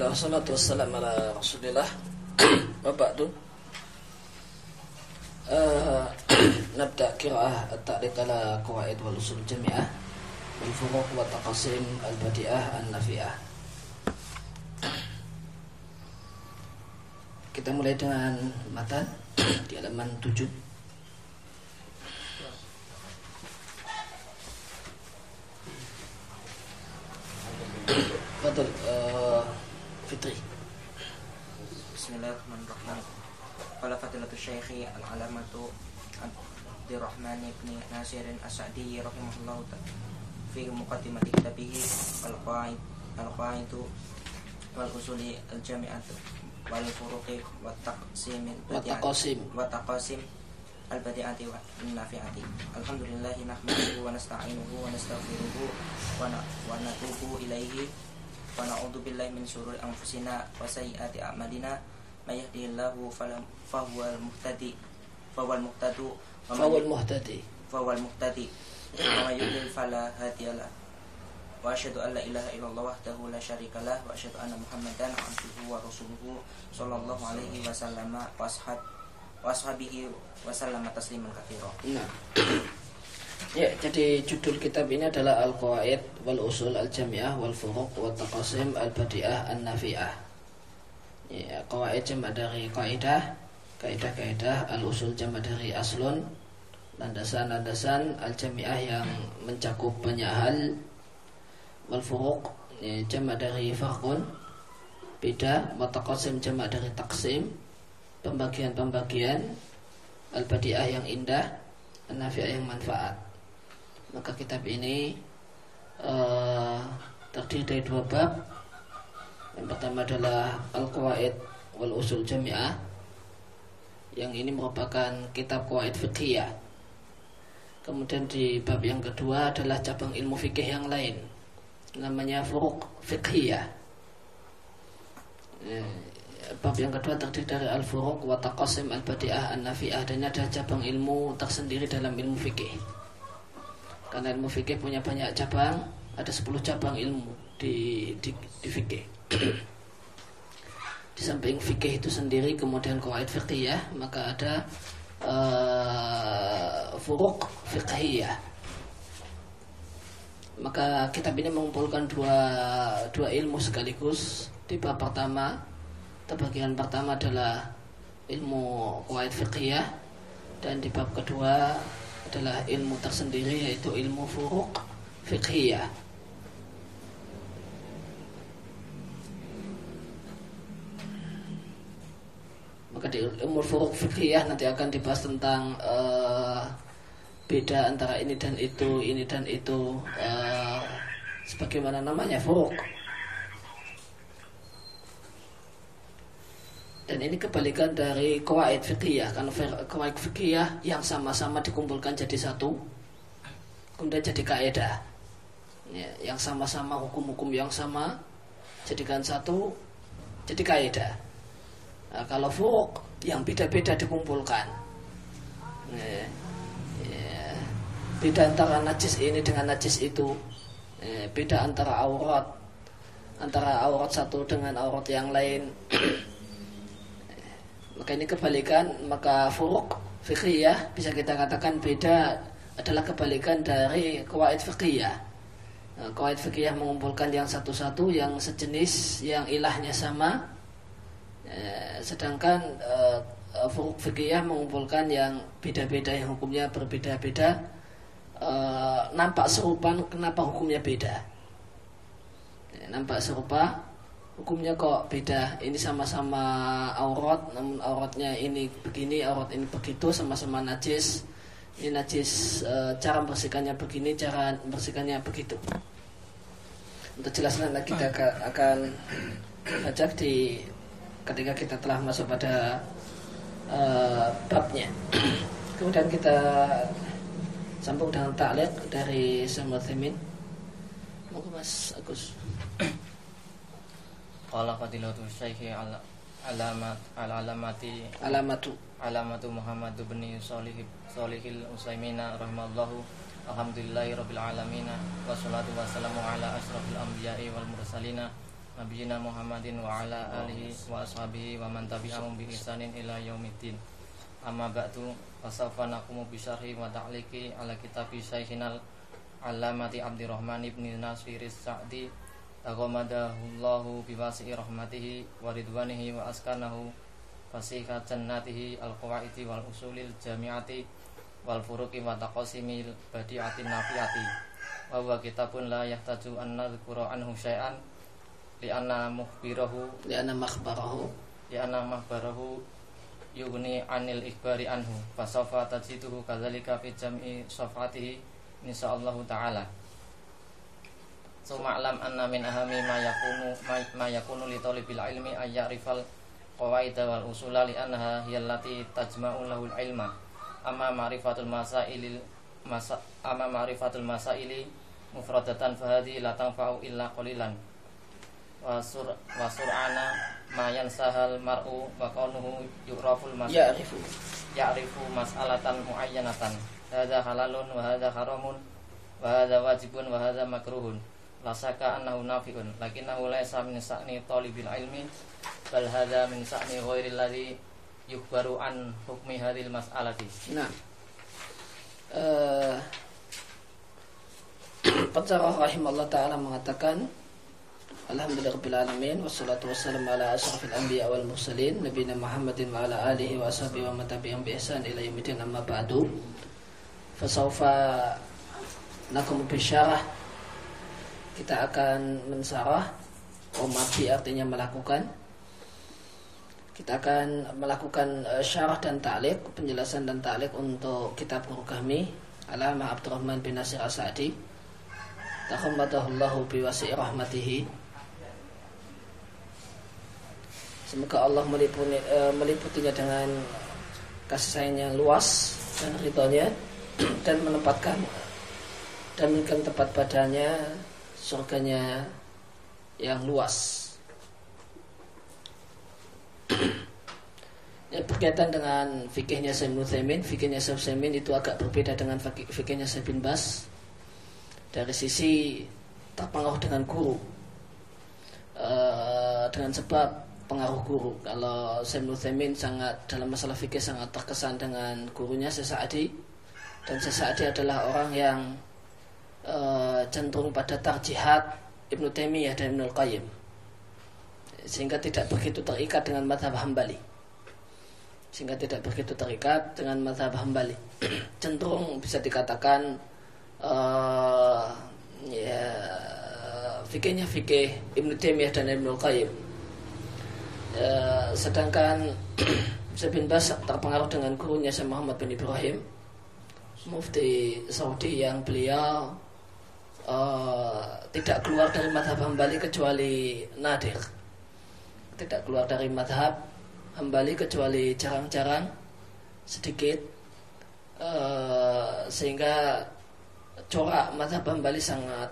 Bismillah, wassalatu wassalamu ala rasulillah. Wa ba'du. Nabda qira'ah at-ta'liq ala qawaid wal usul jami'ah wal furuq wa taqasim al-badi'ah an-nafi'ah. Kita mulai dengan matan di halaman 7. Betul, Fitri. Bismillahirrahmanirrahim. Qala fadilatul syekhi al-alamatu Abdurrahman ibn Nasir as-Sa'di rahimahullahu ta'ala fi muqaddimati kitabihi al-qaidu wal usuli al-jami'atu wal furuqi wa taqsim al-badi'ati wa nafi'ati. Alhamdulillahi nahmaduhu wa nasta'inuhu wa nastaghfiruhu wa natubu ilaihi wa na'udzu billahi min syururi anfusina wa sayyiati a'malina. May yahdihillahu fahuwal muhtadi wa may yudlil fala hadiyalah. Wa asyhadu an la ilaha illallah wahdahu la syarikalah wa asyhadu anna Muhammadan abduhu wa rasuluhu sallallahu alaihi wasallam wa ashabihi wa sallama tasliman katsira. Nah. Ya, jadi judul kitab ini adalah Al-Qawaid wal Usul Al-Jami'ah wal Furuq wa Taqasim Al-Badi'ah An-Nafi'ah. Ya, qawaid jamak dari kaidah, kaidah-kaidah, al-usul jamak dari aslun, landasan-landasan, al-jami'ah yang mencakup banyak hal, wal furuq ya, jamak dari farqun, beda, wa taqasim jamak dari taksim, pembagian-pembagian, al-badi'ah yang indah, an-nafi'ah yang manfaat. Maka kitab ini terdiri dari dua bab. Yang pertama adalah Al-Qawaid wal Usul Jami'ah. Yang ini merupakan kitab qawaid fiqhiyah. Kemudian di bab yang kedua adalah cabang ilmu fikih yang lain, namanya Furuq Fiqhiyah. Bab yang kedua terdiri dari Al-Furuq wa Taqasim Al-Badi'ah An-Nafi'ah, dan ada cabang ilmu tersendiri dalam ilmu fikih. Karena ilmu fikih punya banyak cabang, ada 10 cabang ilmu di fikih. Di samping fikih itu sendiri kemudian qawaid fiqhiyah, maka ada furuq fiqhiyah. Maka kitab ini mengumpulkan dua ilmu sekaligus. Di bab pertama, bagian pertama adalah ilmu qawaid fiqhiyah, dan di bab kedua adalah ilmu tersendiri, yaitu ilmu furuq fiqhiyah. Maka di ilmu furuq fiqhiyah nanti akan dibahas tentang beda antara ini dan itu, sebagaimana namanya furuq. Dan ini kebalikan dari qawaid fiqhiyah. Karena qawaid fiqhiyah yang sama-sama dikumpulkan jadi satu, kemudian jadi kaidah ya, yang sama-sama hukum-hukum yang sama jadikan satu, jadi kaidah. Nah, kalau furuq yang beda-beda dikumpulkan ya, beda antara najis ini dengan najis itu, beda antara aurat satu dengan aurat yang lain. Maka ini kebalikan. Maka furuq fiqhiyah bisa kita katakan beda, adalah kebalikan dari qawaid fiqhiyah. Qawaid fiqhiyah mengumpulkan yang satu-satu, yang sejenis, yang ilahnya sama. Sedangkan furuq fiqhiyah mengumpulkan yang beda-beda, yang hukumnya berbeda-beda, nampak serupa, kenapa hukumnya beda? Nampak serupa, hukumnya kok beda. Ini sama-sama aurat, namun auratnya ini begini, aurat ini begitu, sama-sama najis. Ini najis, cara membersihkannya begini, cara membersihkannya begitu. Untuk jelasnya kita akan baca ketika kita telah masuk pada babnya. Kemudian kita sambung dengan ta'liq dari Syekh Utsaimin. Monggo Mas Agus. Qala fadilatul syekhi alamatu Muhammad bin Shalihil Utsaimin rahimallahu. Alhamdulillahi rabbil alamin, wassalatu wassalamu ala asrofil anbiya'i wal mursalina nabiyina Muhammadin wa ala alihi wa ashabihi wa man tabi'ahum bi ihsanin ila yaumiddin. Amma ba'du, fasawfa naqumu bi syarhi wa ta'liqi ala kitabi Syaikhinal Allamati Abdurrahman ibn Nasir as-Sa'di taghammadahullahu bi wasi'i rahmatihi wa ridwanihi wa askanahu fasiha jannatihi al-qawaidi wal usulil jami'ati wal furuqi wa taqasimil badi'atin nafiati. Wa huwa kitabun la yahtaju an nadhkura anhu syai'an li'anna makhbarahu yughni anil ikhbari anhu fasawfa tajiduhu kadzalika fi jam'i safatihi insyaallah taala. Summa alam anna min ahami ma yakunu li talibil ilmi ay ya'rifal qawaida wal usula li annaha hiyallati tajma'u lahul ilma. Amma ma'rifatul masaili mufradatan fahadi la tanfa'u illa qalilan wa sur'ana ma yansahal mar'u wa kaunuhu ya'rifu mas'alatan muayyanatan hadza halalun wa hadza haramun wa hadza wajibun wa hadza makruhun la saka annahu nafi'un lakinnahu laysa min sa'ni talibil ilmi bal hadza min sa'ni ghairil ladzi yukhbaru an hukmi hadhil mas'alati. Nah, Pensyarah rahimahullah ta'ala mengatakan, alhamdulillahirabbil alamin wassalatu wassalamu ala asyrafil anbiya wal mursalin nabiyina Muhammadin wa ala alihi wa ashabihi wa man tabi'ahum bi ihsan ila yaumil amma ba'du. Fasawfa nakum bisyarah, kita akan mensarah. Omati artinya melakukan. Kita akan melakukan syarah dan ta'liq, penjelasan dan ta'liq untuk kitab guru kami Allamah Abdurrahman bin Nasir as-Sa'di taghammadahullahu bi wasi'i rahmatihi. Semoga Allah meliputinya dengan kasih sayangnya yang luas dan ridhonya dan menempatkan dan memberikan tempat padanya surganya yang luas. Ya, berkaitan dengan fikihnya Syekh Ibnu Utsaimin, fikihnya Syekh Utsaimin itu agak berbeda dengan fikihnya Syekh bin Baz dari sisi terpengaruh dengan guru, dengan sebab pengaruh guru. Kalau Syekh Ibnu Utsaimin sangat dalam masalah fikih sangat terkesan dengan gurunya Syekh Sa'di, dan Syekh Sa'di adalah orang yang cenderung pada tarjihat Ibnu Taimiyah dan Ibnu Qayyim, sehingga tidak begitu terikat dengan mazhab Hambali. Cenderung bisa dikatakan fikihnya fikih Ibnu Taimiyah dan Ibnu Qayyim. Sedangkan Syekh bin Baz terpengaruh dengan gurunya Syekh Muhammad bin Ibrahim, mufti Saudi, yang beliau tidak keluar dari mazhab Hambali kecuali nadir. Tidak keluar dari mazhab Hambali kecuali jarang-jarang, sedikit, sehingga corak mazhab Hambali sangat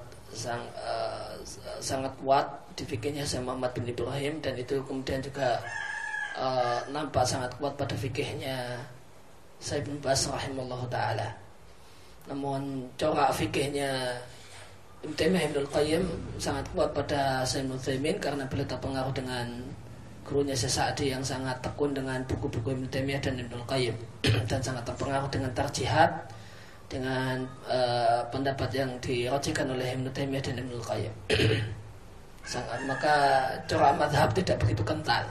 kuat di fikihnya Syekh Muhammad bin Ibrahim, dan itu kemudian juga nampak sangat kuat pada fikihnya Syekh bin Baz rahimahullah ta'ala. Namun corak fikihnya Ibnu Taimiyah Ibnu Qayyim sangat kuat pada Syekh Ibnu Utsaimin karena beliau terpengaruh dengan gurunya Syekh Sa'di yang sangat tekun dengan buku-buku Ibnu Taimiyah dan Ibnu Qayyim dan sangat terpengaruh dengan tarjihat, dengan pendapat yang dirojihkan oleh Ibnu Taimiyah dan Ibnu Qayyim. Maka corak mazhab tidak begitu kental.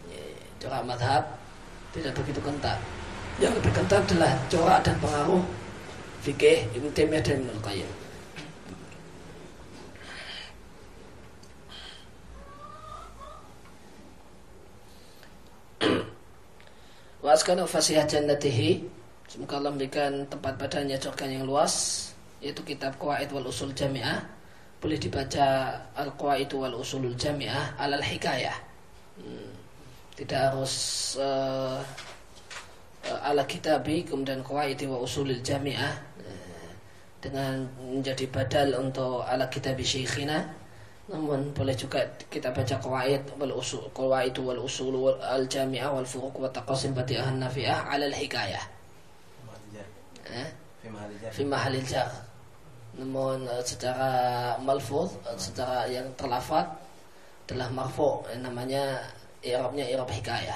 Yang lebih kental adalah corak dan pengaruh fikih Ibnu Taimiyah dan Ibnu Qayyim. Wa askanu fasihah jannatihi, semoga Allah memberikan tempat padanya surga yang luas, yaitu kitab Qawaid wal Usul Jami'ah. Boleh dibaca Al-Qawaid wal Usulul Jami'ah alal hikayah, tidak harus ala kitabi kemudian Qawaid wa Usulul Jami'ah dengan menjadi badal untuk ala kitabi syekhina. Namun boleh juga kita baca Qawaid wal Usul al Jami'ah wal Furuq wa Taqasim Badi'ah Nafi'ah 'ala al hikayah. Fi mahalil jar. Namun secara malfuz, secara yang terlafaz adalah marfu, namanya i'rabnya i'rab hikayah.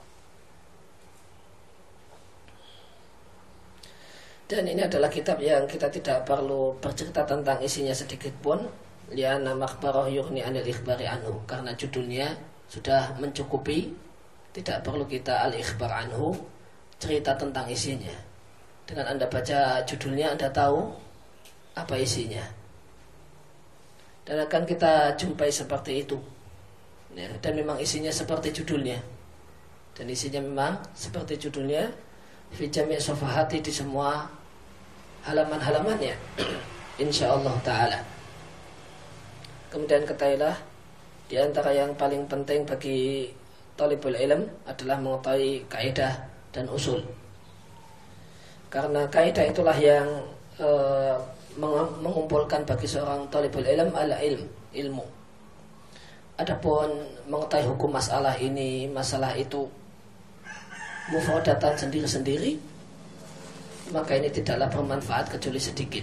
Dan ini adalah kitab yang kita tidak perlu bercerita tentang isinya sedikit pun, li'anna makhbarah yughni 'anil ikhbari anhu, karena judulnya sudah mencukupi, tidak perlu kita al-ikhbar anhu, cerita tentang isinya. Dengan Anda baca judulnya, Anda tahu apa isinya. Dan akan kita jumpai seperti itu. Ya, dan memang isinya seperti judulnya. Dan isinya memang seperti judulnya, fi jami' safahati, di semua halaman-halamannya. Insyaallah ta'ala. Kemudian ketahuilah, di antara yang paling penting bagi talibul ilm adalah mengetahui kaidah dan usul. Karena kaidah itulah yang mengumpulkan bagi seorang talibul ilm ilmu. Adapun mengetahui hukum masalah ini, masalah itu mufradatan sendiri-sendiri, maka ini tidaklah bermanfaat kecuali sedikit.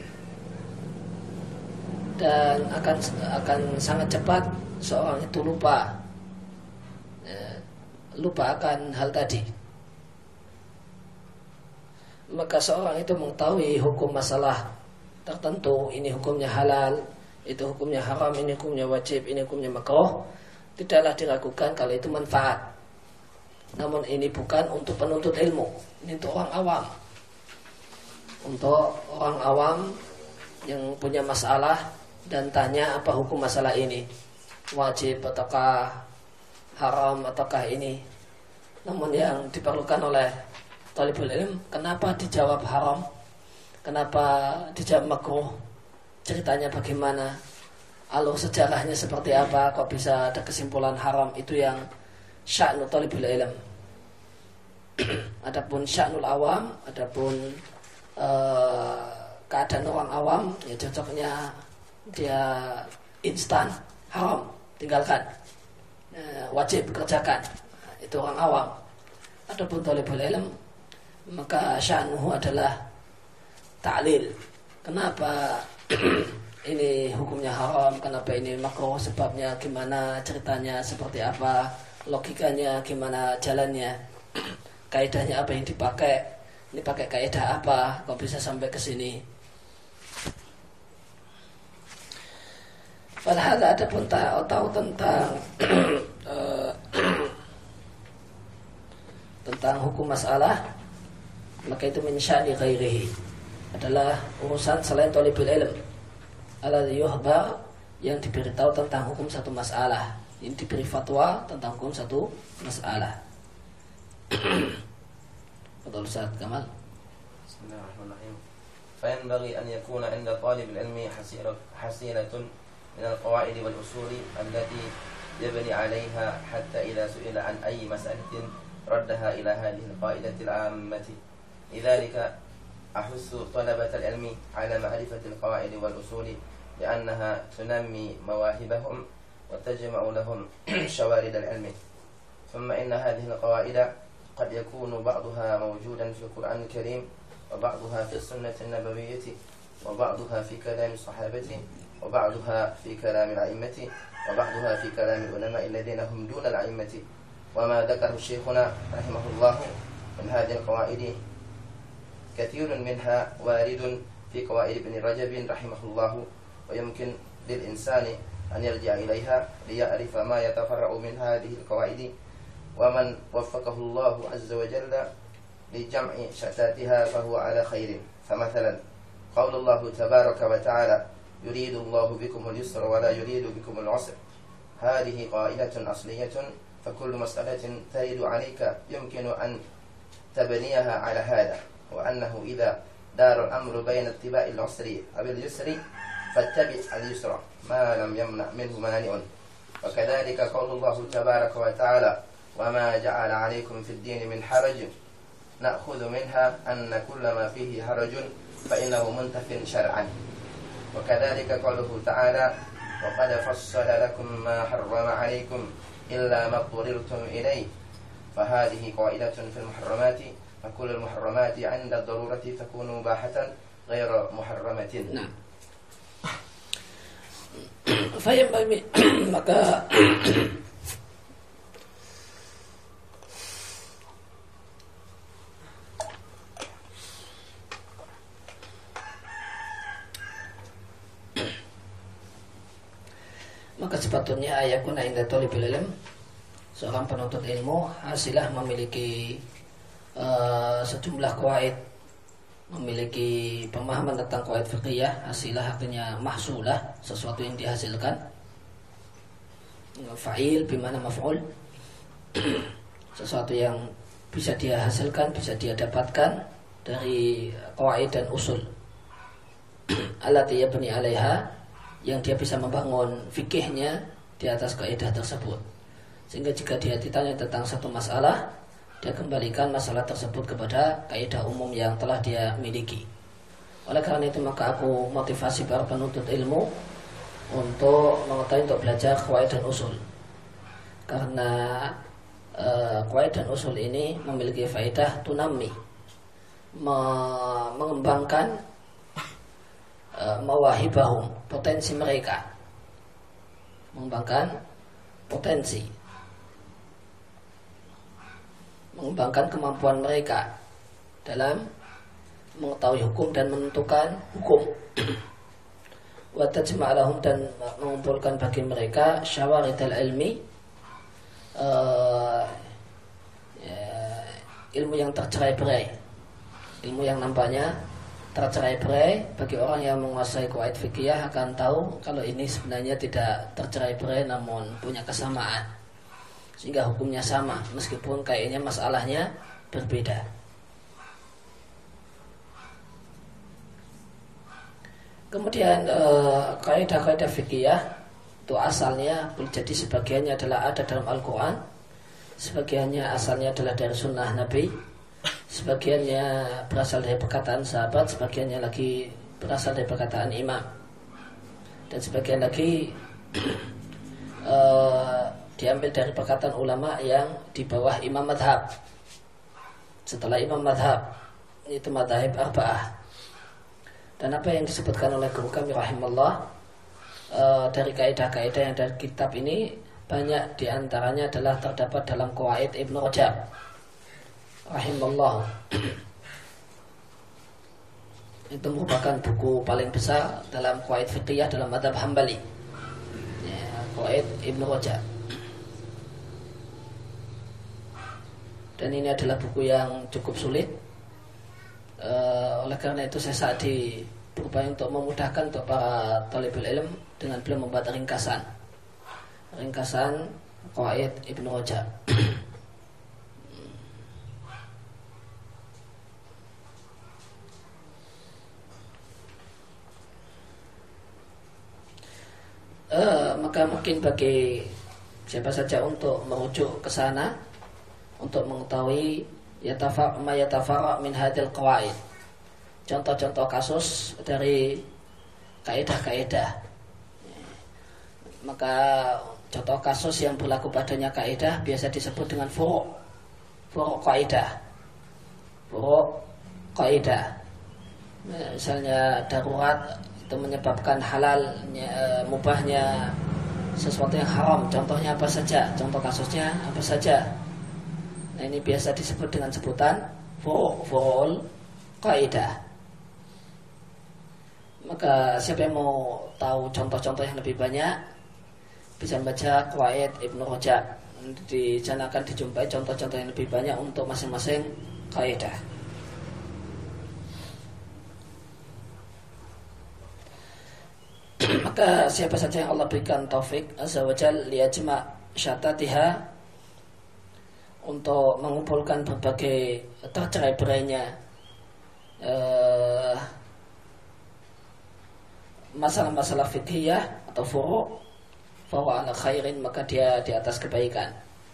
Dan akan sangat cepat seorang itu lupa akan hal tadi. Maka seorang itu mengetahui hukum masalah tertentu, ini hukumnya halal, itu hukumnya haram, ini hukumnya wajib, ini hukumnya makruh, tidaklah diragukan kalau itu manfaat. Namun ini bukan untuk penuntut ilmu, ini untuk orang awam. Untuk orang awam yang punya masalah dan tanya apa hukum masalah ini, wajib ataukah haram ataukah ini. Namun yang diperlukan oleh talibul ilm, kenapa dijawab haram, kenapa dijawab makruh, ceritanya bagaimana, alur sejarahnya seperti apa, kok bisa ada kesimpulan haram, itu yang sya'nu talibul ilm. Adapun sya'nul awam, adapun keadaan orang awam, ya cocoknya dia instan, haram, tinggalkan, wajib kerjakan, itu orang awam. Adapun talibul ilm, maka sya'nuhu adalah ta'lil, kenapa ini hukumnya haram, kenapa ini makruh, sebabnya gimana, ceritanya seperti apa, logikanya gimana, jalannya, kaidahnya apa yang dipakai, ini pakai kaidah apa, kok bisa sampai ke sini. Padahal ada pun tahu tentang hukum masalah, maka itu min sya'ni ghairihi, adalah urusan selain talibul ilm. Alladhi yuhbar, yang diberitahu tentang hukum satu masalah, yang diberi fatwa tentang hukum satu masalah. Betul Ustaz Kamal. Bismillahirrahmanirrahim. فينبغي أن يكون عند طالب العلم حصيلة من القواعد والأصول التي يبني عليها حتى إذا سئل عن أي مسألة ردها إلى هذه القاعدة العامة. لذلك أحث طلبة العلم على معرفة القواعد والأصول لأنها تنمي مواهبهم وتجمع لهم شوارد العلم. ثم إن هذه القواعد قد يكون بعضها موجودا في القرآن الكريم، وبعضها في السنة النبوية، وبعضها في كلام الصحابة، وبعضها في كلام الأئمة، وبعضها في كلام العلماء الذين هم دون الأئمة. وما ذكره شيخنا رحمه الله من هذه القواعد كثير منها وارد في قواعد ابن رجب رحمه الله، ويمكن للإنسان أن يرجع إليها ليعرف ما يتفرع من هذه القواعد، ومن وفقه الله عز وجل لجمع شتاتها فهو على خير. فمثلا قول الله تبارك وتعالى يريد الله بكم اليسر ولا يريد بكم العسر، هذه قاعدة أصلية، فكل مسألة ترد عليك يمكن أن تبنيها على هذا، وأنه إذا دار الأمر بين اتباع العسر أو اليسر فاتبع اليسر ما لم يمنع منه مانع. وكذلك قول الله تبارك وتعالى وما جعل عليكم في الدين من حرج، نأخذ منها أن كل ما فيه حرج فإنه منتف شرعا. وكذلك قوله تعالى وقد فصل لكم ما حرم عليكم إلا ما اضطررتم إليه، فهذه قاعدة في المحرمات، فكل المحرمات عند الضرورة تكون مباحة غير محرمة. Nah. Fayambami maka maka sepatutnya ayakuna inda thalibil ilm, seorang penuntut ilmu hasilah memiliki sejumlah qawaid, memiliki pemahaman tentang qawaid fiqhiyah. Hasilah artinya mahsulah, sesuatu yang dihasilkan. Fa'il bimana maf'ul, sesuatu yang bisa dia hasilkan, bisa dia dapatkan dari qawaid dan usul. Allati yabni 'alaiha, yang dia bisa membangun fikihnya di atas kaidah tersebut. Sehingga jika dia ditanya tentang satu masalah, dia kembalikan masalah tersebut kepada kaidah umum yang telah dia miliki. Oleh karena itu maka aku motivasi para penuntut ilmu untuk mengetahui, untuk belajar qawaid dan usul. Karena qawaid dan usul ini memiliki faedah tunami, mengembangkan mawahibahum, potensi mereka, mengembangkan potensi, mengembangkan kemampuan mereka dalam mengetahui hukum dan menentukan hukum. Wa tajma'alahum, dan mengumpulkan bagi mereka syawaridal ilmi, ilmu yang tercerai-berai, ilmu yang nampaknya tercerai-berai. Bagi orang yang menguasai qawaid fikih akan tahu kalau ini sebenarnya tidak tercerai-berai namun punya kesamaan, sehingga hukumnya sama meskipun kayaknya masalahnya berbeda. Kemudian kaidah-kaidah fikih itu asalnya boleh jadi sebagiannya adalah ada dalam Al-Quran, sebagiannya asalnya adalah dari sunnah Nabi, sebagiannya berasal dari perkataan sahabat, sebagiannya lagi berasal dari perkataan imam, dan sebagian lagi diambil dari perkataan ulama yang di bawah imam madhab. Setelah imam madhab itu madhab arba'ah. Dan apa yang disebutkan oleh guru kami rahimallah dari kaidah-kaidah yang dari kitab ini, banyak diantaranya adalah terdapat dalam Qawaid Ibnu Rajab rahimallah. Itu merupakan buku paling besar dalam qawaid fiqhiyah dalam mazhab Hambali, ya, Qawaid Ibnu Rajab. Dan ini adalah buku yang cukup sulit. Oleh karena itu saya saat berupaya untuk memudahkan untuk para talibul ilm dengan beliau membuat ringkasan Qawaid Ibnu Rajab. Maka mungkin bagi siapa saja untuk merujuk ke sana untuk mengetahui ma yatafara' min hadil qawaid, contoh-contoh kasus dari kaidah-kaidah. Maka contoh kasus yang berlaku padanya kaidah biasa disebut dengan furu' kaidah. Misalnya darurat itu menyebabkan halalnya, mubahnya sesuatu yang haram. Contohnya apa saja? Contoh kasusnya apa saja? Nah, ini biasa disebut dengan sebutan furu'ul kaidah. Maka siapa yang mau tahu contoh-contoh yang lebih banyak bisa membaca Qawaid Ibnu Rajab. Di sana akan dijumpai contoh-contoh yang lebih banyak untuk masing-masing kaidah. Maka siapa saja yang Allah berikan taufik azza wa jalla liyajma' syatatiha, untuk mengumpulkan berbagai tercerai-berainya masalah-masalah fiqhiyah atau furu' ala khairin, maka dia di atas kebaikan.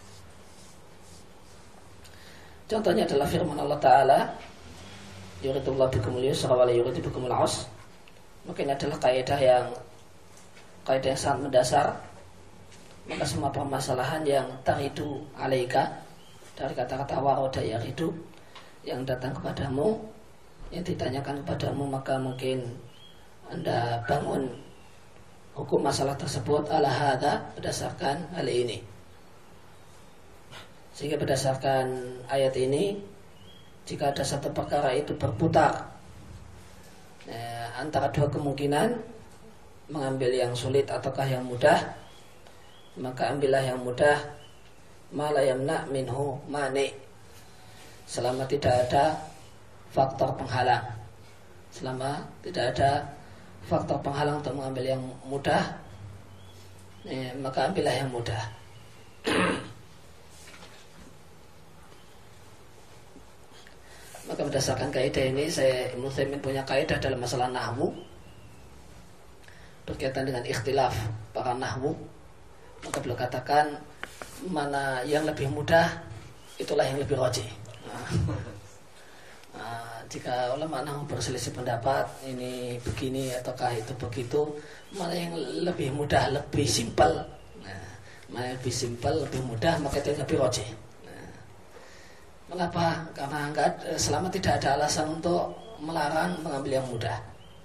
Contohnya adalah firman Allah Ta'ala, yuridullahu bikumul yusra wa la yuridu bikumul usra. Maka ini adalah kaidah yang sangat mendasar. Maka semua permasalahan yang taridu alaika, dari kata-kata waroda yaridu, yang datang kepadamu, yang ditanyakan kepadamu, maka mungkin Anda bangun hukum masalah tersebut ala hadza, berdasarkan hal ini. Sehingga berdasarkan ayat ini, jika ada satu perkara itu berputar antara dua kemungkinan, mengambil yang sulit ataukah yang mudah, maka ambillah yang mudah, ma la yamna minhu mani, selama tidak ada faktor penghalang. Selama tidak ada faktor penghalang untuk mengambil yang mudah, maka ambillah yang mudah. Maka berdasarkan kaidah ini, Ibnu Utsaimin punya kaidah dalam masalah nahwu berkaitan dengan ikhtilaf para nahwu. Maka beliau katakan, mana yang lebih mudah, itulah yang lebih rajih. Jika ulama nahwu berselisih pendapat, ini begini ataukah itu begitu, mana yang lebih mudah, lebih simpel, mana yang lebih simpel, lebih mudah, maka itu yang lebih rajih. Mengapa? Karena selama tidak ada alasan untuk melarang mengambil yang mudah.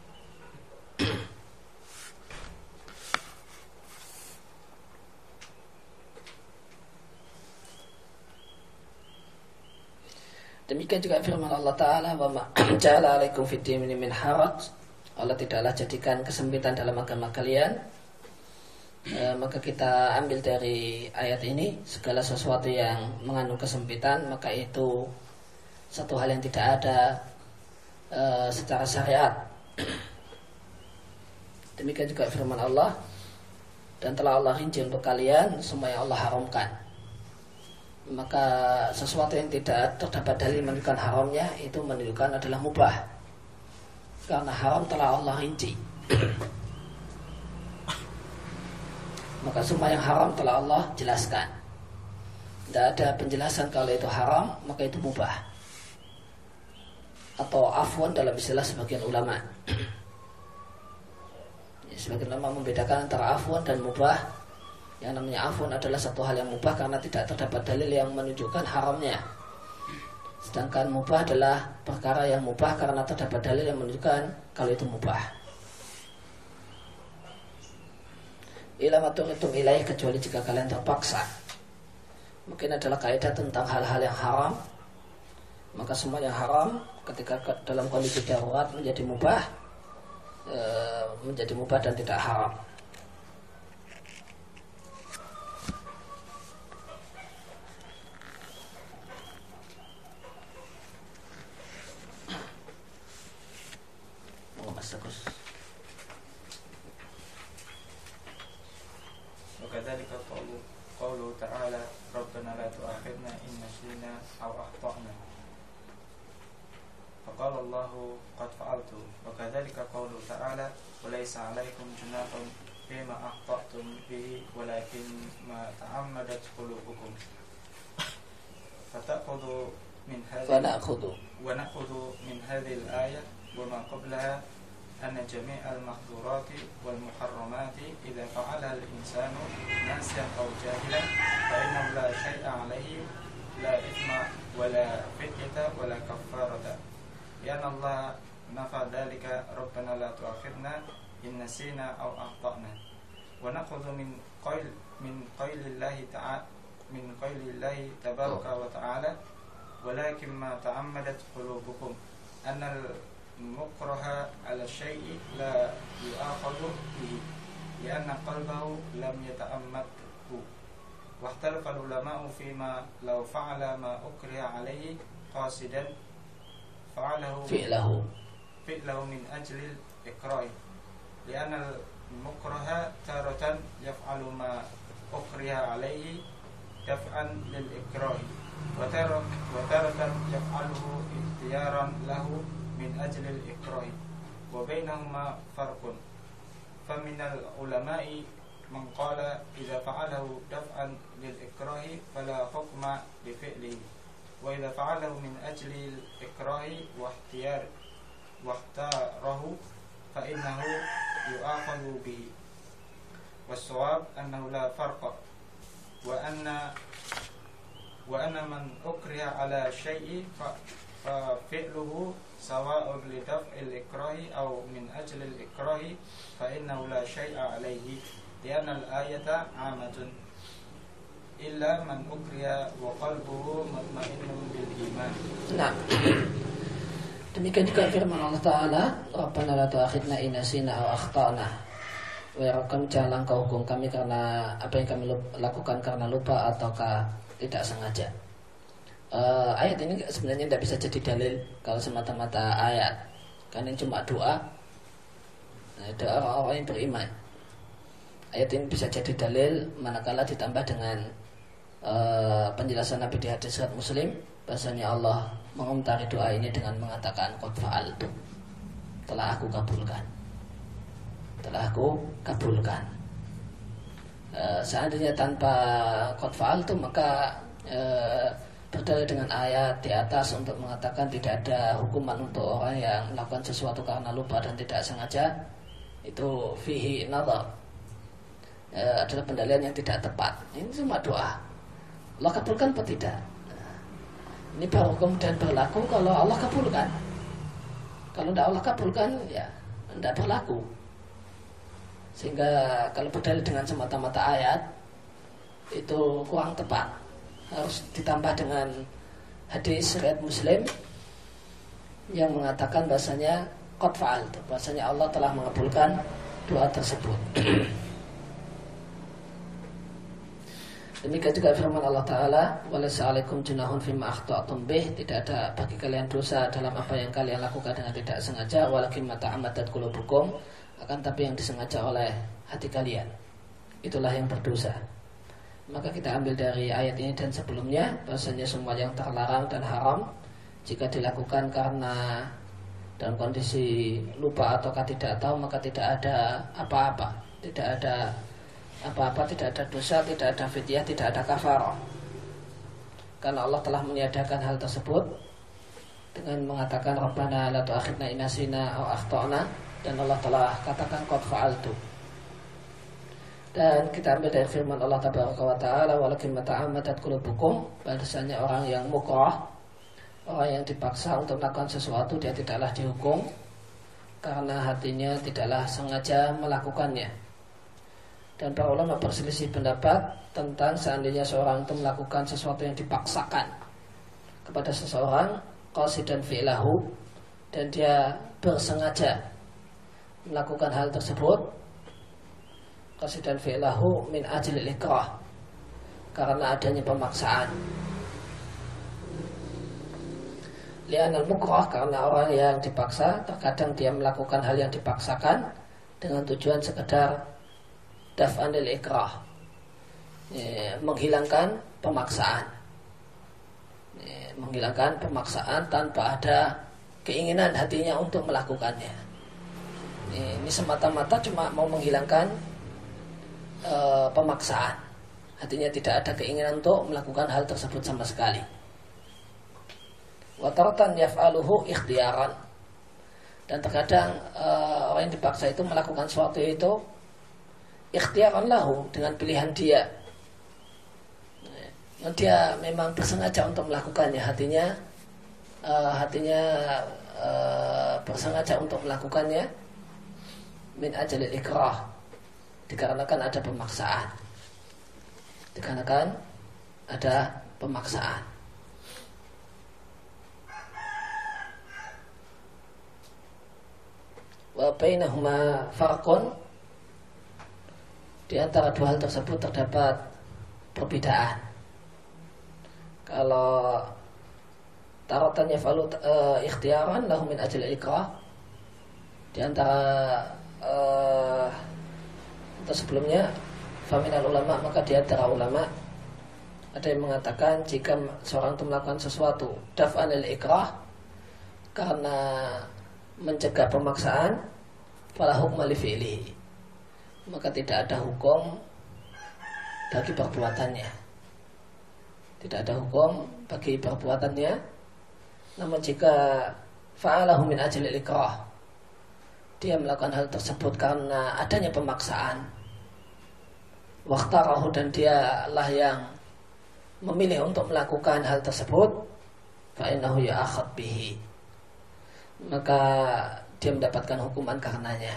Demikian juga firman Allah Ta'ala, wa ma ja'ala alaikum fid dini min haraj. Allah tidaklah jadikan kesempitan dalam agama kalian. Maka kita ambil dari ayat ini, segala sesuatu yang mengandung kesempitan, maka itu satu hal yang tidak ada secara syariat. Demikian juga firman Allah, dan telah Allah rinci untuk kalian semua yang Allah haramkan. Maka sesuatu yang tidak terdapat dalil menunjukkan haramnya, itu menunjukkan adalah mubah, karena haram telah Allah rinci. Maka semua yang haram telah Allah jelaskan. Tidak ada penjelasan kalau itu haram, maka itu mubah, atau afwan dalam istilah sebagian ulama. Sebagian ulama membedakan antara afwan dan mubah. Yang namanya afwan adalah satu hal yang mubah karena tidak terdapat dalil yang menunjukkan haramnya. Sedangkan mubah adalah perkara yang mubah karena terdapat dalil yang menunjukkan kalau itu mubah. Ila maturitum ilaih, kecuali jika kalian terpaksa. Mungkin adalah kaidah tentang hal-hal yang haram. Maka semua yang haram ketika dalam kondisi darurat menjadi mubah, dan tidak haram. Bagus. وكذلك قوله تعالى ربنا لا تؤاخذنا إن نسينا أو أخطأنا فقال الله قد فعلت. وكذلك قوله تعالى وليس عليكم جناح فيما أخطأتم به ولكن ما تعمدت قلوبكم. ونأخذ من هذه الآية وما قبلها أن جميع المحظورات والمحرمات إذا فعلها الإنسان ناسيا أو جاهلا فإنه لا شيء عليه، لا إثم ولا فدية ولا كفارة، لأن الله نفى ذلك ربنا لا تؤاخذنا إن نسينا أو أخطأنا. ونأخذ من قول الله تبارك وتعالى ولكن ما تعمدت قلوبكم أن المكره على الشيء لا يؤاخذ به لأن قلبه لم يتأمده. واختلف العلماء فيما لو فعل ما أكره عليه قاصدا فعله من أجل الإكراه، لأن المكره تارة يفعل ما أكره عليه دفعا للإكراه، وتارة يفعله اختيارا له من أجل الإكراه، وبينهما فرق. فمن العلماء من قال إذا فعله دفعا للإكراه فلا حكم بفعله، وإذا فعله من أجل الإكراه واختاره فإنه يؤاخذ به. والصواب أنه لا فرق، وأن من أكره على شيء ففعله سواء لدفع الإكراه أو من أجل الإكراه فإنه لا شيء عليه لأن الآية عامة إلا من أكره وقلبه مطمئن بالإيمان. Nah, demikian juga firman Allah Ta'ala, Rabbana la tu'akhidna in nasina aw akhtana. Wahai Rabb kami, janganlah Engkau hukum kami karena apa yang kami lakukan karena lupa ataukah tidak sengaja. Ayat ini sebenarnya tidak bisa jadi dalil kalau semata-mata ayat, karena ini cuma doa orang-orang yang beriman. Ayat ini bisa jadi dalil manakala ditambah dengan penjelasan Nabi di hadis riwayat Muslim, bahasanya Allah mengomentari doa ini dengan mengatakan qad fa'altu, telah aku kabulkan. Seandainya tanpa qad fa'altu maka berdalil dengan ayat di atas untuk mengatakan tidak ada hukuman untuk orang yang melakukan sesuatu karena lupa dan tidak sengaja, itu fihi nadhar, adalah pendalilan yang tidak tepat. Ini cuma doa, Allah kabulkan atau tidak. Ini baru kemudian berlaku kalau Allah kabulkan. Kalau tidak Allah kabulkan, ya tidak berlaku. Sehingga kalau berdalil dengan semata-mata ayat itu kurang tepat. Harus ditambah dengan hadis riwayat Muslim yang mengatakan bahasanya qad fa'altu, bahasanya Allah telah mengabulkan doa tersebut. Demikian juga firman Allah Ta'ala, walaysa 'alaikum junahun fima akhta'tum bih, tidak ada bagi kalian dosa dalam apa yang kalian lakukan dengan tidak sengaja, walakin ma ta'ammadat qulubukum, akan tapi yang disengaja oleh hati kalian, itulah yang berdosa. Maka kita ambil dari ayat ini dan sebelumnya bahasanya semua yang terlarang dan haram jika dilakukan karena dalam kondisi lupa ataukah tidak tahu, maka tidak ada apa-apa, tidak ada dosa, tidak ada fidyah, tidak ada kafarah. Karena Allah telah meniadakan hal tersebut dengan mengatakan Rabbana la tu'akhidna in nasina aw akhtana, dan Allah telah katakan qad fa'altu. Dan kita ambil dari firman Allah Tabaraka wa Ta'ala, walakin mata'ammadat qulubukum, bahasanya orang yang mukrah, orang yang dipaksa untuk melakukan sesuatu, dia tidaklah dihukum karena hatinya tidaklah sengaja melakukannya. Dan para ulama berselisih pendapat tentang seandainya seorang itu melakukan sesuatu yang dipaksakan kepada seseorang, qasidan fi'lahu, dan dia bersengaja melakukan hal tersebut, qasidan fi'lahu min ajlil ikrah, karena adanya pemaksaan. Li'anal mukrah, karena orang yang dipaksa terkadang dia melakukan hal yang dipaksakan dengan tujuan sekedar daf'anil ikrah, menghilangkan pemaksaan, menghilangkan pemaksaan tanpa ada keinginan hatinya untuk melakukannya. Ini semata-mata cuma mau menghilangkan pemaksaan, hatinya tidak ada keinginan untuk melakukan hal tersebut sama sekali. Wa taratan yaf'aluhu ikhtiyaran, dan terkadang orang yang dipaksa itu melakukan sesuatu itu ikhtiaran lahu, dengan pilihan dia. Dia memang bersengaja untuk melakukannya, hatinya bersengaja untuk melakukannya min ajalil ikrah, dikarenakan ada pemaksaan. Wa bainahuma farqun, di antara dua hal tersebut terdapat perbedaan. Kalau taratan yaf'alu ikhtiyaran lahu min ajli ikrah, di antara sebelumnya faminal ulama, maka di antara ulama ada yang mengatakan jika seorang itu melakukan sesuatu daf'anil ikrah, karena mencegah pemaksaan, fala hukma li fi'lihi, maka tidak ada hukum bagi perbuatannya. Tidak ada hukum bagi perbuatannya. Namun jika fa'alahu min ajlil ikrah, dia melakukan hal tersebut karena adanya pemaksaan, waqtarahu, dan dialah yang memilih untuk melakukan hal tersebut, fa'innahu ya'akhad bihi, maka dia mendapatkan hukuman karenanya.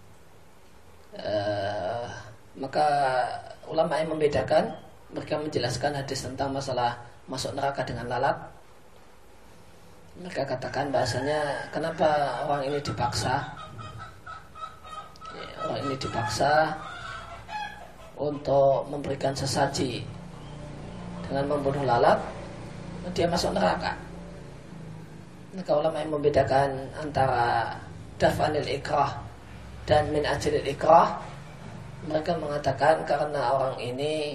Maka ulama yang membedakan, mereka menjelaskan hadis tentang masalah masuk neraka dengan lalat. Mereka katakan bahasanya kenapa orang ini dipaksa, orang ini dipaksa untuk memberikan sesaji dengan membunuh lalat, dia masuk neraka. Maka ulama yang membedakan antara daf'anil ikrah dan min ajlil ikrah, mereka mengatakan karena orang ini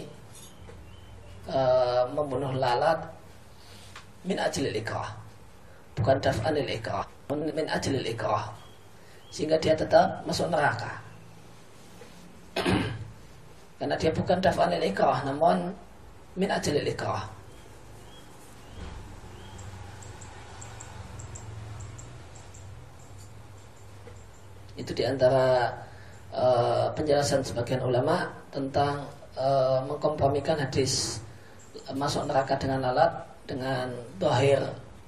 membunuh lalat min ajlil ikrah, bukan daf'anil ikrah, min ajlil ikrah, sehingga dia tetap masuk neraka. Karena dia bukan daf'anil ikrah, namun min ajlil ikrah. Itu diantara penjelasan sebagian ulama tentang mengkompromikan hadis masuk neraka dengan lalat dengan zahir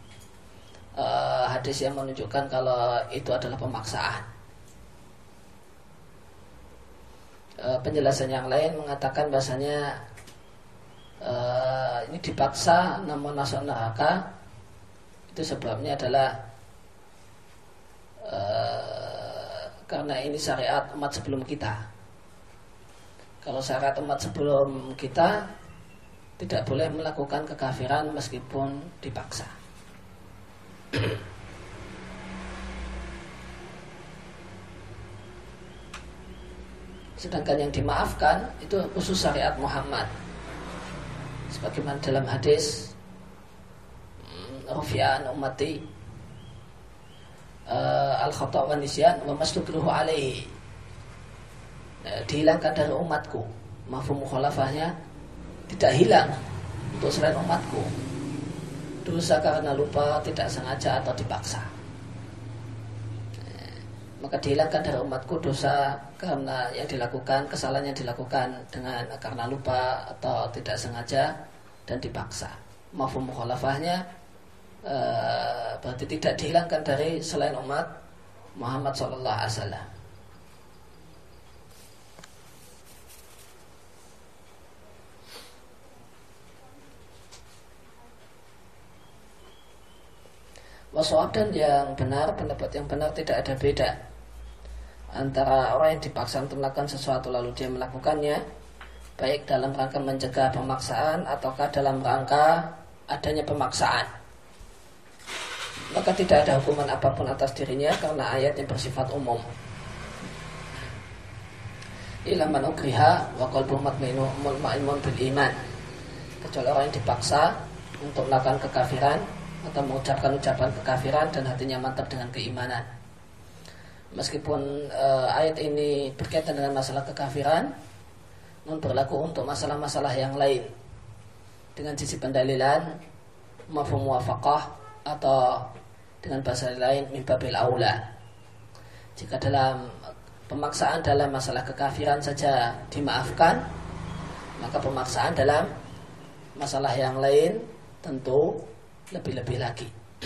hadis yang menunjukkan kalau itu adalah pemaksaan. Penjelasan yang lain mengatakan bahasanya ini dipaksa namun masuk neraka, itu sebabnya adalah karena ini syariat umat sebelum kita. Kalau syariat umat sebelum kita, tidak boleh melakukan kekafiran meskipun dipaksa. Sedangkan yang dimaafkan itu khusus syariat Muhammad, sebagaimana dalam hadis Rufi'an ummati al-khata' wa nisyan wa mastukruhu alaihi, dihilangkan dari umatku. Mafhum mukhalafahnya tidak hilang untuk selain umatku. Dosa karena lupa, tidak sengaja atau dipaksa, maka dihilangkan dari umatku dosa karena yang dilakukan, kesalahan yang dilakukan dengan karena lupa atau tidak sengaja dan dipaksa. Mafhum mukhalafahnya berarti tidak dihilangkan dari selain umat Muhammad sallallahu alaihi wasallam. Wasawab, dan yang benar, pendapat yang benar, tidak ada beda antara orang yang dipaksa untuk melakukan sesuatu lalu dia melakukannya, baik dalam rangka mencegah pemaksaan ataukah dalam rangka adanya pemaksaan. Maka tidak ada hukuman apapun atas dirinya karena ayat yang bersifat umum. Illa man ukriha wa qalbuhu mutmainnun bil iman, kecuali orang yang dipaksa untuk melakukan kekafiran atau mengucapkan ucapan kekafiran dan hatinya mantap dengan keimanan. Meskipun ayat ini berkaitan dengan masalah kekafiran, namun berlaku untuk masalah-masalah yang lain dengan sisi pendalilan mafhum muwafaqah, atau dengan bahasa lain min babil aula. Jika dalam pemaksaan dalam masalah kekafiran saja dimaafkan, maka pemaksaan dalam masalah yang lain tentu lebih-lebih lagi.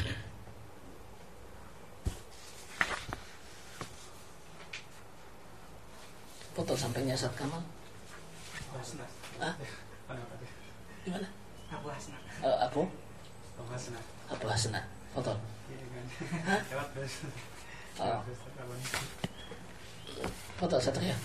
Foto sampingnya Ustaz Kamal. Gimana? Abu Hasna. Foto. Foto Satria.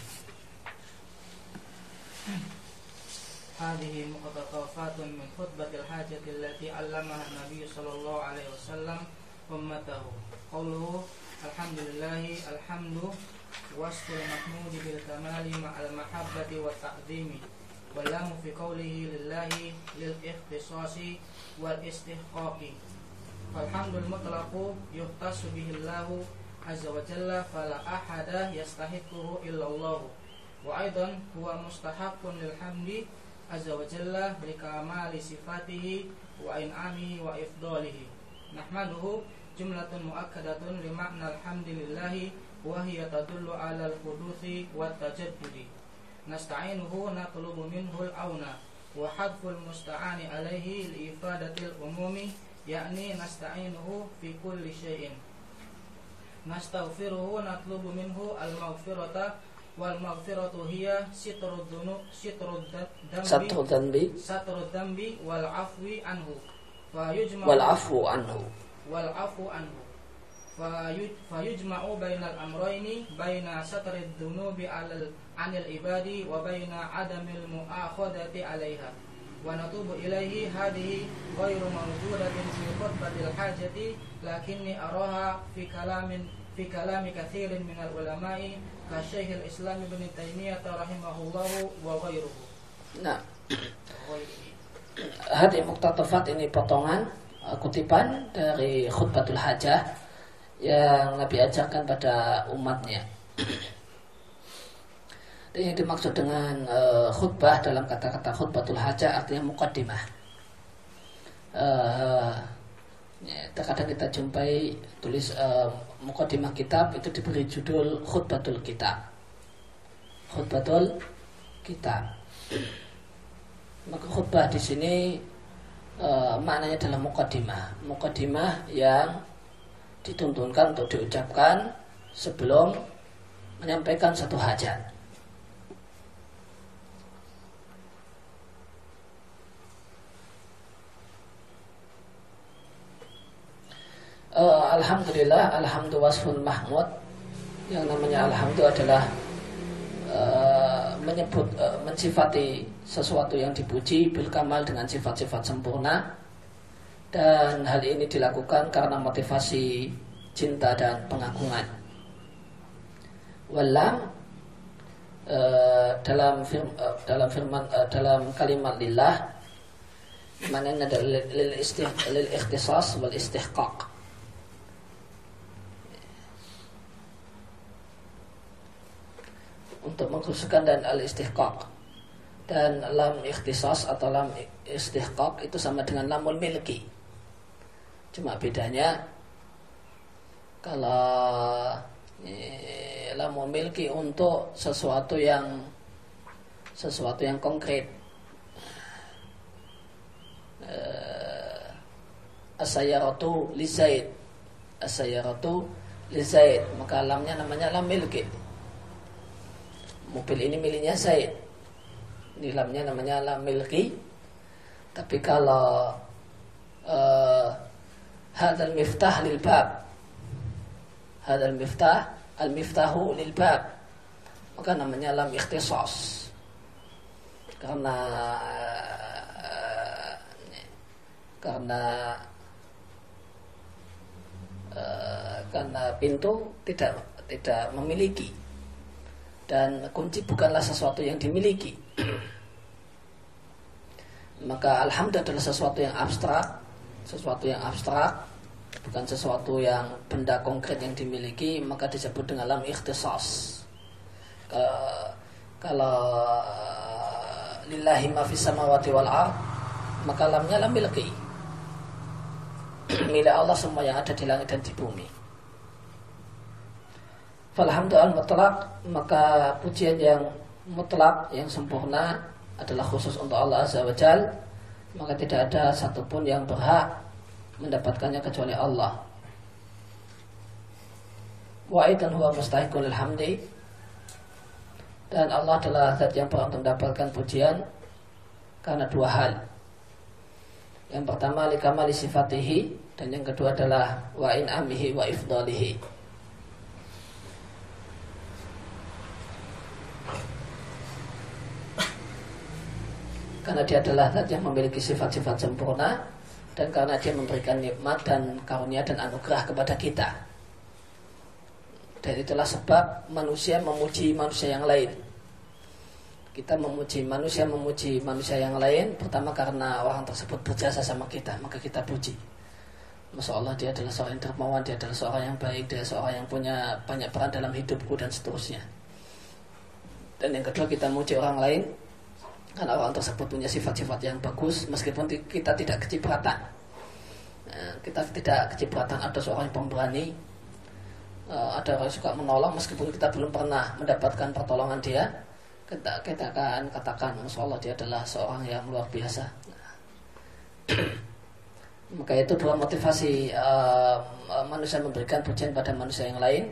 هذه مقتطفات من خطبة الحاجة التي علمها النبي صلى الله عليه وسلم أمته. قوله الحمد لله الحمد وصف المحمود بالكمال مع المحبة والتعظيم، واللام في قوله لله للاختصاص والاستحقاق. فالحمد المطلق يختص به الله عز وجل فلا أحد يستحقه إلا الله، وأيضا هو مستحق للحمد عز وجل لكمال صفاته وإنعامه وإفضاله. نحمده جملة مؤكدة لمعنى الحمد لله وهي تدل على الحدوث والتجدد. نستعينه نطلب منه العون وحذف المستعان عليه لإفادة العموم yakni nasta'inuhu fi kulli syai'in, nastaghfiruhu natlubu minhu al-maghfirata, wal maghfiratu hiya sitrud dambi wal afwi anhu, fayujma'u bainal amrayni, baina satrid dunubi anil ibadi wa baina adamil mu'akhadati 'alaiha, wa natubu ilaihi. Hadhihi ghairu mawjudatin fi khutbatil hajati, lakinni araha fi kalami katsirin minal ulama'i ka Syekhul Islam Ibnu Taimiyah rahimahullahu wa ghairuhu. Nah, hadis muqtatafat ini potongan kutipan dari khutbatul hajah yang Nabi ajarkan pada umatnya. Dan yang dimaksud dengan khutbah dalam kata-kata khutbatul hajah artinya muqaddimah. Terkadang kita jumpai tulis muqaddimah kitab itu diberi judul khutbatul kitab. Khutbatul kitab. Maka khutbah di sini maknanya adalah muqaddimah. Muqaddimah yang dituntunkan untuk diucapkan sebelum menyampaikan satu hajat. Alhamdulillah, alhamdu wasfun mahmud. Yang namanya alhamdu adalah menyebut mensifati sesuatu yang dipuji bil kamal dengan sifat-sifat sempurna, dan hal ini dilakukan karena motivasi cinta dan pengagungan. Walam dalam kalimat lillah maknanya adalah lil ikhtisas wal istihqaq. Untuk mengkhususkan dan al-istihqaq. Dan lam ikhtisas atau lam istihqaq itu sama dengan lamul milki. Cuma bedanya kalau lamul milki untuk sesuatu yang konkret. As-sayyaratu li Zaid. As-sayyaratu li Zaid, maka lamnya namanya lam milki. Mobil ini miliknya Zaid. Ini lamnya namanya lam milki. Tapi kalau hadzal miftah lil bab, hadzal miftah, al miftahu lil bab, maka namanya lam ikhtisas. Karena pintu tidak memiliki, dan kunci bukanlah sesuatu yang dimiliki. Maka alhamdulillah adalah sesuatu yang abstrak, bukan sesuatu yang benda konkret yang dimiliki, maka disebut dengan lam ikhtisas. Kalau lillahi ma fis samawati wal ard, maka lamnya lam milki. Milik Allah semua yang ada di langit dan di bumi. Falhamdulillah mutlak, maka pujian yang mutlak, yang sempurna adalah khusus untuk Allah Azza wa Jal, maka tidak ada satupun yang berhak mendapatkannya kecuali Allah. Wa aidan huwa mustahiqul lil hamdi, dan Allah adalah zat yang berhak mendapatkan pujian karena dua hal. Yang pertama li kamali sifatihi, dan yang kedua adalah wa in'amihi wa ifdalihi. Karena dia adalah zat yang memiliki sifat-sifat sempurna, dan karena dia memberikan nikmat dan karunia dan anugerah kepada kita. Dan itulah sebab manusia memuji manusia yang lain. Kita memuji manusia yang lain, pertama karena orang tersebut berjasa sama kita, maka kita puji. Masya Allah, dia adalah seorang yang dermawan, dia adalah seorang yang baik, dia seorang yang punya banyak peran dalam hidupku, dan seterusnya. Dan yang kedua, kita memuji orang lain karena orang tersebut punya sifat-sifat yang bagus, meskipun kita tidak kecipratan. Kita tidak kecipratan, ada seorang yang pemberani, ada orang yang suka menolong, meskipun kita belum pernah mendapatkan pertolongan dia, kita akan katakan, Masya Allah, dia adalah seorang yang luar biasa. Maka itu dua motivasi manusia memberikan pujian pada manusia yang lain.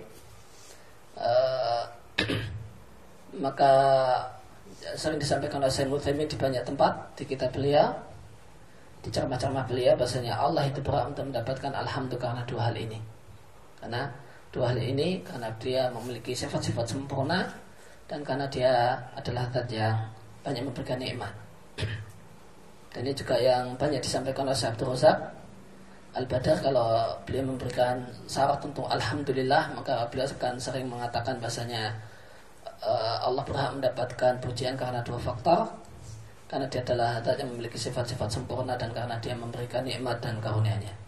Maka sering disampaikan oleh Syekh Utsaimin di banyak tempat, di kitab beliau, di ceramah-ceramah beliau, bahasanya Allah itu berhak untuk mendapatkan alhamdulillah karena dua hal ini. Karena dua hal ini, karena dia memiliki sifat-sifat sempurna, dan karena dia adalah zat yang banyak memberikan nikmat. Dan ini juga yang banyak disampaikan oleh Syekh Abdul Razak Al-Badar. Kalau beliau memberikan syarat untuk alhamdulillah, maka beliau akan sering mengatakan bahasanya Allah berhak mendapatkan pujian karena dua faktor. Karena dia adalah zat yang memiliki sifat-sifat sempurna, dan karena dia memberikan nikmat dan karunia-Nya.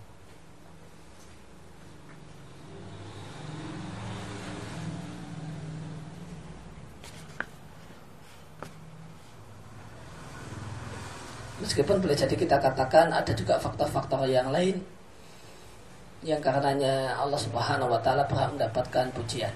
Meskipun boleh jadi kita katakan ada juga faktor-faktor yang lain yang karenanya Allah Subhanahu wa Ta'ala berhak mendapatkan pujian.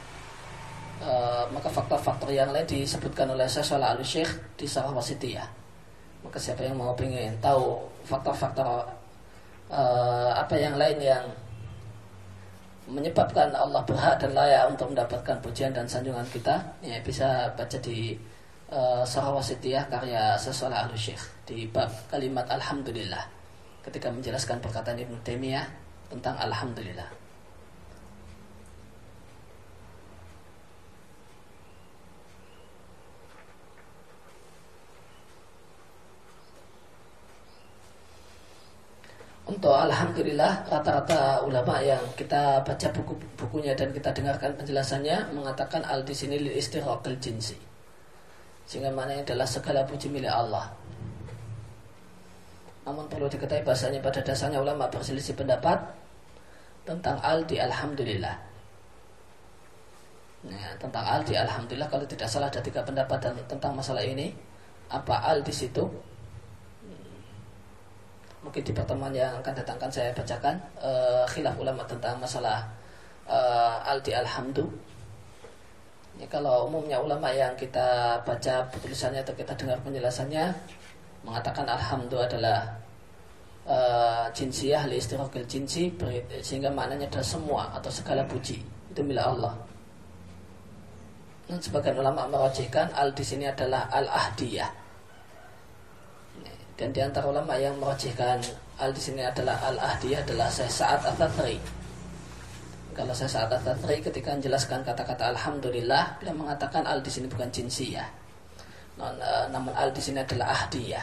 Maka faktor-faktor yang lain disebutkan oleh Syekh Shalih Al-Syekh di Syarah Wasithiyah. Maka siapa yang mau pengen tahu faktor-faktor apa yang lain yang menyebabkan Allah berhak dan layak untuk mendapatkan pujian dan sanjungan kita, ya bisa baca di Syarah Wasithiyah karya Syekh Shalih Al-Syekh di bab kalimat alhamdulillah, ketika menjelaskan perkataan Ibnu Taimiyah tentang alhamdulillah. Untuk alhamdulillah, rata-rata ulama yang kita baca buku-bukunya dan kita dengarkan penjelasannya mengatakan al di sini lil istighraqil jinsi, sehingga maknanya adalah segala puji milik Allah. Namun perlu diketahui bahasanya pada dasarnya ulama berselisih pendapat tentang al di alhamdulillah. Nah, tentang al di alhamdulillah, kalau tidak salah ada 3 pendapat tentang masalah ini. Apa al di situ? Mungkin di pertemuan yang akan datangkan saya bacakan khilaf ulama tentang masalah al di alhamdu. Ya, kalau umumnya ulama yang kita baca tulisannya atau kita dengar penjelasannya mengatakan alhamdu adalah jinsiyah li istighraqil jinsi, sehingga maknanya adalah semua atau segala puji itu milik Allah. Dan sebagian ulama merajihkan al di sini adalah al-ahdiyah. Dan di antara ulama yang merajihkan al di sini adalah al-ahdiyah adalah Syekh Sa'ad Ats-Tsatri. Kalau Syekh Sa'ad Ats-Tsatri ketika menjelaskan kata-kata alhamdulillah, beliau mengatakan al di sini bukan jinsiyah, namun al di sini adalah ahdiyah.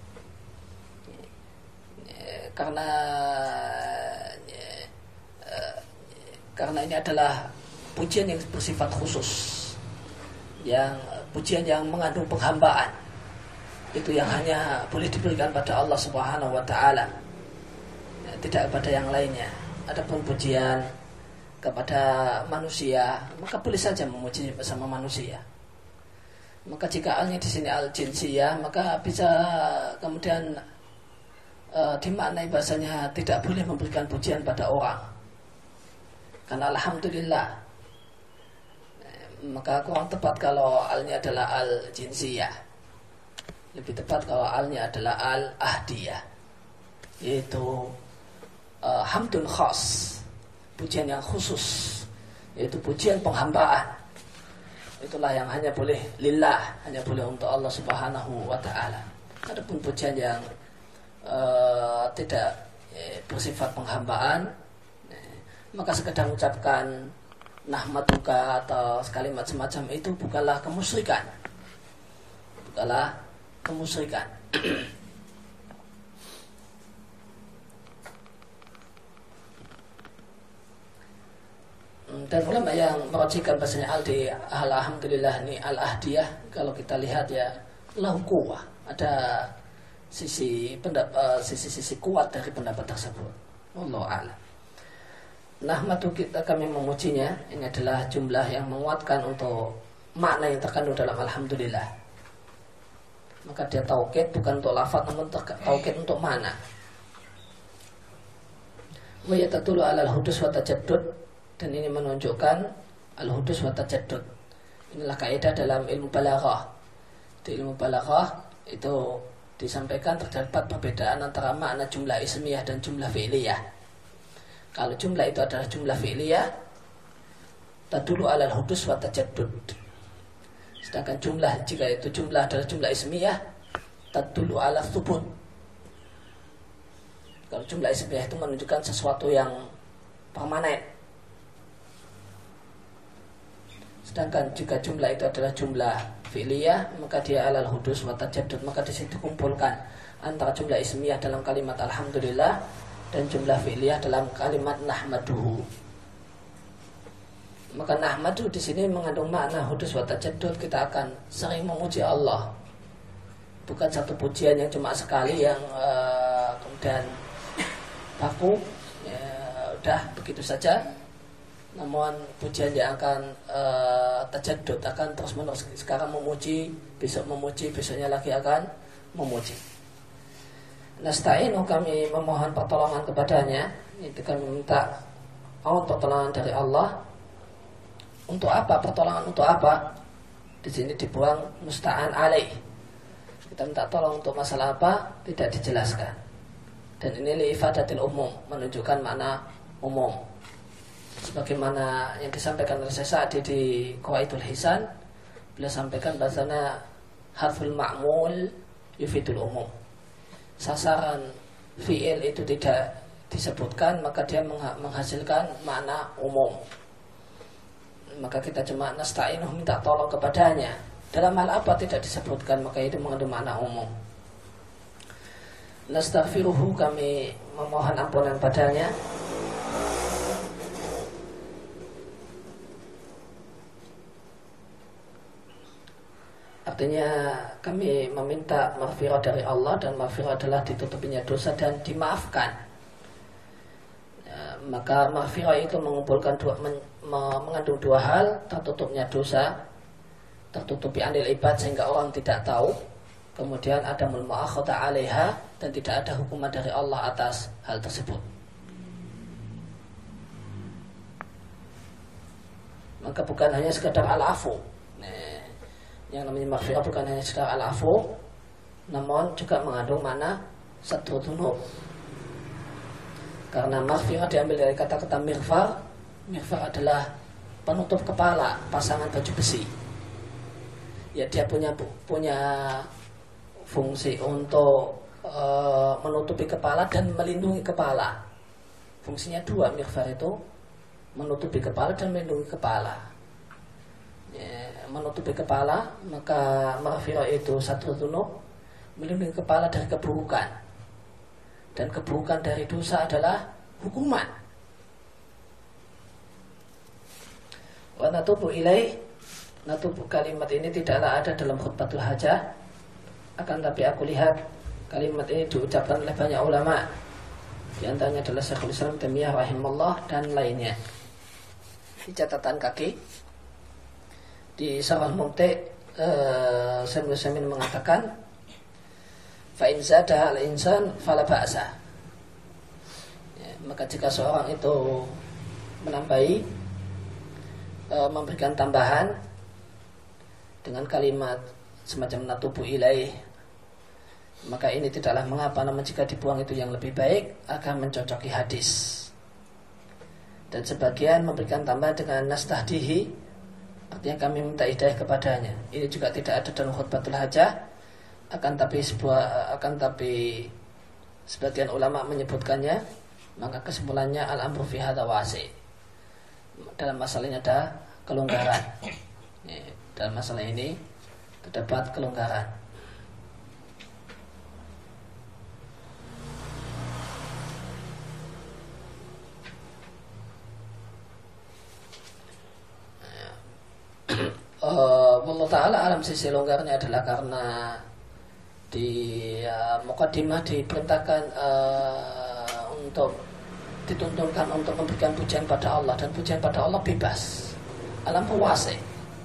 Karena ini adalah pujian yang bersifat khusus, yang pujian yang mengandung penghambaan, itu yang hanya boleh diberikan pada Allah Subhanahu wa Ta'ala, tidak kepada yang lainnya. Adapun pujian kepada manusia, maka boleh saja memuji bersama manusia. Maka jika alnya di sini al jinsiyah, maka bisa kemudian dimaknai bahasanya tidak boleh memberikan pujian pada orang. Karena alhamdulillah, maka kurang tepat kalau alnya adalah al jinsiyah. Lebih tepat kalau alnya adalah al ahdiyah, yaitu hamdun khas, pujian yang khusus, yaitu pujian penghambaan. Itulah yang hanya boleh lillah, hanya boleh untuk Allah Subhanahu wa Ta'ala. Adapun pujian yang tidak bersifat penghambaan, maka sekedar mengucapkan nahmaduka atau kalimat semacam itu bukanlah kemusyrikan. Bukanlah kemusyrikan. Dan ulama yang merajihkan bahasanya al di alhamdulillah ini al ahdiyah, kalau kita lihat ya lahu quwwah, ada sisi kuat dari pendapat tersebut. Wallahu a'lam. Nahmadu, kami memujinya, ini adalah jumlah yang menguatkan untuk makna yang terkandung dalam alhamdulillah. Maka dia taukid bukan untuk lafaz, namun taukid untuk makna. Wa yatadullu 'ala al-hudus wa tajaddud, dan ini menunjukkan al-hudus wa tajaddud. Inilah kaidah dalam ilmu balaghah. Di ilmu balaghah itu disampaikan terdapat perbedaan antara makna jumlah ismiyah dan jumlah fi'liyah. Kalau jumlah itu adalah jumlah fi'liyah, tadulu alal hudus wa tajaddud. Sedangkan jumlah, jika itu jumlah adalah jumlah ismiyah, tadulu ala thubut. Kalau jumlah ismiyah itu menunjukkan sesuatu yang permanen. Sedangkan jika jumlah itu adalah jumlah fi'liyah, maka dia alal hudus wa tajaddud, maka di situ dikumpulkan antara jumlah ismiyah dalam kalimat alhamdulillah dan jumlah fi'liyah dalam kalimat nahmaduhu. Maka nahmadu di sini mengandung makna hudus wa tajaddud, kita akan sering memuji Allah. Bukan satu pujian yang cuma sekali yang kemudian baku, ya, udah begitu saja. Namun pujian yang akan tajaddud, akan terus menerus. Sekarang memuji, besok memuji, besoknya lagi akan memuji. Nasta'inu, kami memohon pertolongan kepadanya, itu kami minta pertolongan dari Allah. Untuk apa? Pertolongan untuk apa? Di sini dibuang musta'an alaih. Kita minta tolong untuk masalah apa? Tidak dijelaskan. Dan ini li'ifadatil umum, menunjukkan makna umum. Sebagaimana yang disampaikan oleh Syekh Sa'di di Qawaidul Hisan, beliau sampaikan bahasanya harful ma'mul yufidul umum. Sasaran fi'il itu tidak disebutkan, maka dia menghasilkan makna umum. Maka kita cuma nasta'inuh, minta tolong kepadanya. Dalam hal apa tidak disebutkan, maka itu mengandung makna umum. Nastaghfiruhu, kami memohon ampunan padanya. Artinya kami meminta maghfirah dari Allah, dan maghfirah adalah ditutupinya dosa dan dimaafkan. Maka maghfirah itu mengumpulkan mengandung dua hal: tertutupnya dosa, tertutupi anil ibad sehingga orang tidak tahu, kemudian ada mu'akhadha 'alaiha, dan tidak ada hukuman dari Allah atas hal tersebut. Maka bukan hanya sekadar al-afu. Yang namanya maghfirah bukan hanya sekadar al-afu, namun juga mengandung makna satru dzunub. Karena maghfirah diambil dari kata-kata mighfar. Mighfar adalah penutup kepala, pasangan baju besi. Ya, dia punya fungsi untuk menutupi kepala dan melindungi kepala. Fungsinya dua, mighfar itu menutupi kepala dan melindungi kepala. Ya, menutupi kepala, maka maghfirah itu satru dzunub, melindungi kepala dari keburukan. Dan keburukan dari dosa adalah hukuman. Wa natubu ilaih, natubu, kalimat ini tidaklah ada dalam khutbatul hajah. Akan tapi aku lihat kalimat ini diucapkan oleh banyak ulama. Di antaranya adalah Syekhul Islam Taimiyah rahimahullah dan lainnya. Di catatan kaki di Syarah Mumti', Syekh Utsaimin mengatakan, fa in zada al-insan fala ba'sa. Ya, maka jika seorang itu menambahi, memberikan tambahan dengan kalimat semacam natubu ilaih, maka ini tidaklah mengapa, namun jika dibuang itu yang lebih baik akan mencocoki hadis. Dan sebagian memberikan tambahan dengan nastahdihi, artinya kami minta hidayah kepadanya. Ini juga tidak ada dalam khutbatul hajah. Akan tapi sebagian ulama menyebutkannya, maka kesimpulannya al-amru fi hadza wasi'. Dalam masalah ini ada kelonggaran. Dalam masalah ini terdapat kelonggaran. Allah Ta'ala alam, sisi longgarnya adalah karena di muqaddimah diperintahkan untuk dituntunkan untuk memberikan pujian pada Allah, dan pujian pada Allah bebas, alam wasi'.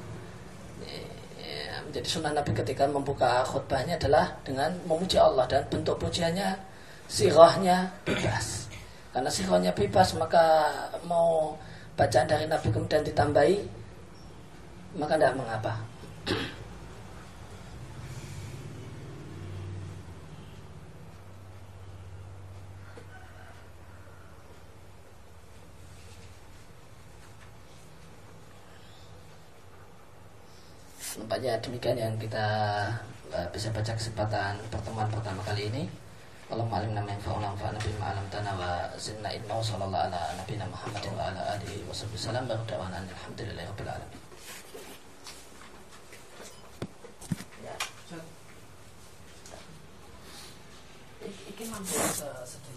Menjadi sunnah Nabi ketika membuka khutbahnya adalah dengan memuji Allah, dan bentuk pujiannya sirahnya bebas. Karena sirahnya bebas, maka mau bacaan dari Nabi kemudian ditambahi, maka tidak mengapa. Nampaknya demikian yang kita bisa baca kesempatan pertemuan pertama kali ini. Allahumma alimna ma yanfa'una wanfa'na bima 'allamtana wa zidna ilma. Sallallahu ala nabiyina Muhammadin wa ala alihi wasallam. Alhamdulillahirabbil alamin. Ya. Iki mampu